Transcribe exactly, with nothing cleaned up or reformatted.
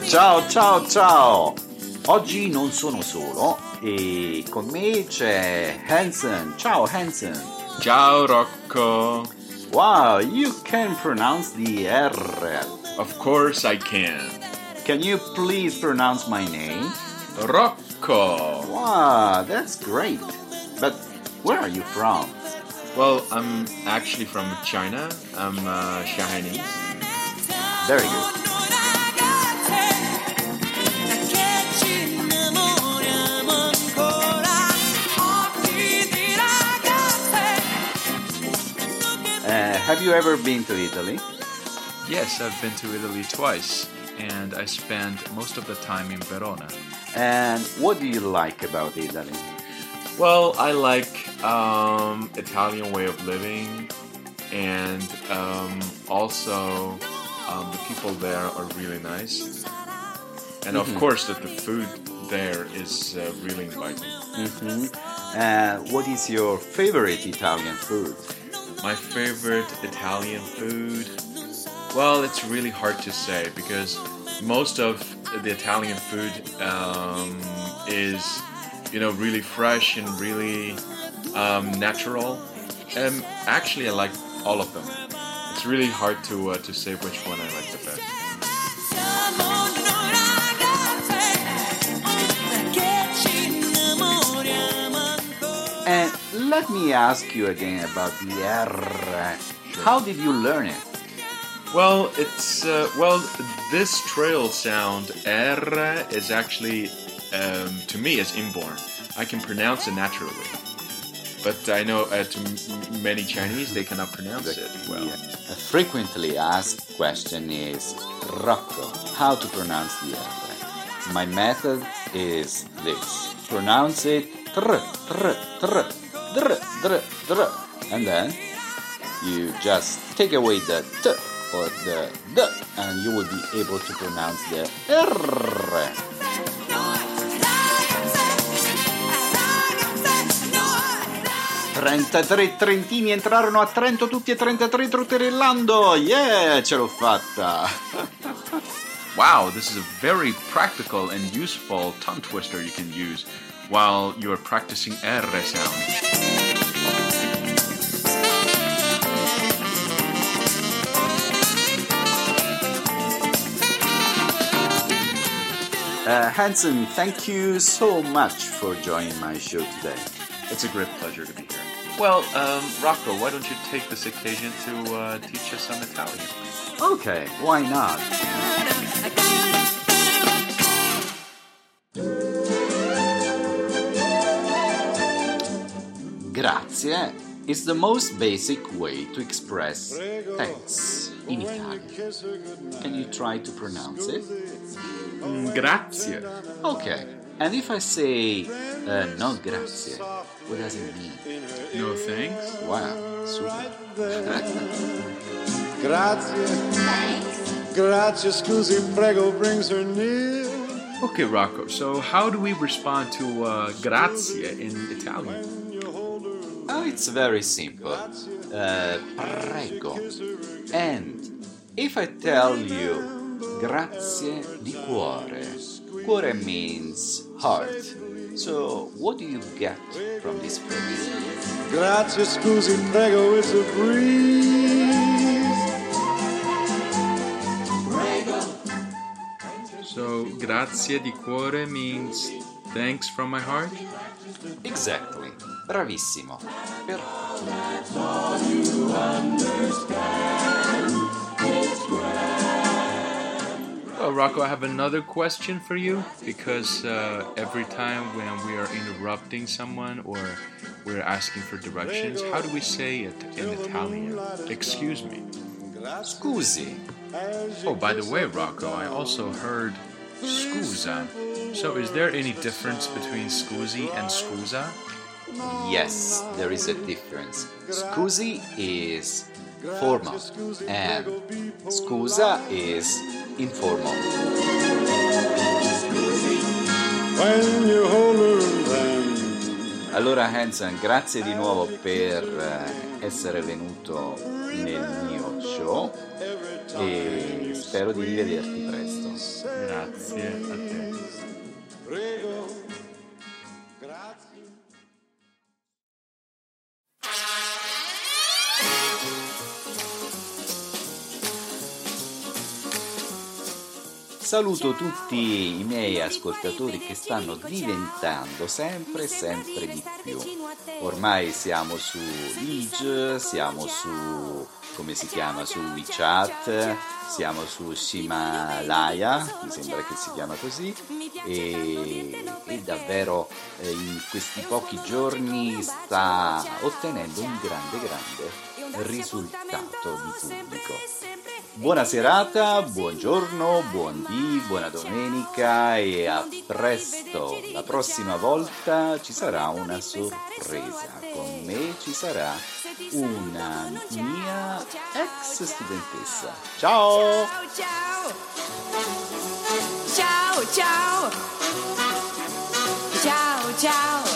Ciao, ciao, ciao! Oggi non sono solo e con me c'è Hansen. Ciao Hansen! Ciao Rocco! Wow, you can pronounce the R. Of course I can. Can you please pronounce my name? Rocco! Wow, that's great. But where are you from? Well, I'm actually from China. I'm uh, Chinese. Very good. Uh, have you ever been to Italy? Yes, I've been to Italy twice, and I spent most of the time in Verona. And what do you like about Italy? Well, I like um, Italian way of living, and um, also um, the people there are really nice. And of Mm-hmm. course, that the food there is uh, really inviting. Mm-hmm. Uh, what is your favorite Italian food? My favorite Italian food? Well, it's really hard to say because most of the Italian food um, is, you know, really fresh and really um, natural. And actually, I like all of them. It's really hard to uh, to say which one I like the best. And let me ask you again about the R. How did you learn it? Well, it's uh, well, this trail sound R is actually um, to me is inborn. I can pronounce it naturally, but I know uh, to m- many Chinese they cannot pronounce it well. Yeah. A frequently asked question is, Rocco, how to pronounce the R? My method is this. Pronounce it tr, tr, tr, dr, dr, dr. And then you just take away the t or the d and you will be able to pronounce the R. trentatré trentini entrarono a Trento tutti e trentatré trotterellando. Yeah, ce l'ho fatta. Wow, this is a very practical and useful tongue twister you can use while you're practicing R sound. Uh, Hansen, thank you so much for joining my show today. It's a great pleasure to be here. Well, um, Rocco, why don't you take this occasion to uh, teach us some Italian? Okay, why not? Grazie is the most basic way to express thanks in Italian. Can you try to pronounce it? Mm, grazie. Okay, and if I say uh, no grazie, what does it mean? No thanks. Wow, super. Grazie. Grazie, scusi, prego, brings her near. Okay, Rocco, so how do we respond to uh, grazie in Italian? Oh, it's very simple. Uh, prego. And if I tell you grazie di cuore, cuore means heart. So what do you get from this phrase? Grazie, scusi, prego, it's a breeze. So, grazie di cuore means thanks from my heart? Exactly. Bravissimo. Per- Well, Rocco, I have another question for you because uh, every time when we are interrupting someone or we're asking for directions, how do we say it in Italian? Excuse me. Scusi. Oh, by the way, Rocco, I also heard scusa. So is there any difference between scusi and scusa? Yes, there is a difference. Scusi is formal and scusa is informal. When you hold her then. Allora Hansen, grazie di nuovo per essere venuto nel mio show e spero di rivederti presto. Grazie a te. Prego, grazie. Saluto tutti i miei ascoltatori che stanno diventando sempre sempre di più. Ormai siamo su Ige, siamo su, come si chiama, su WeChat, siamo su Himalaya, mi sembra che si chiama così, e, e davvero eh, in questi pochi giorni sta ottenendo un grande grande risultato di pubblico. Buona serata, buongiorno, buon dì, buona domenica e a presto. La prossima volta ci sarà una sorpresa. Con me ci sarà una mia ex studentessa. Ciao! Ciao! Ciao ciao! Ciao ciao!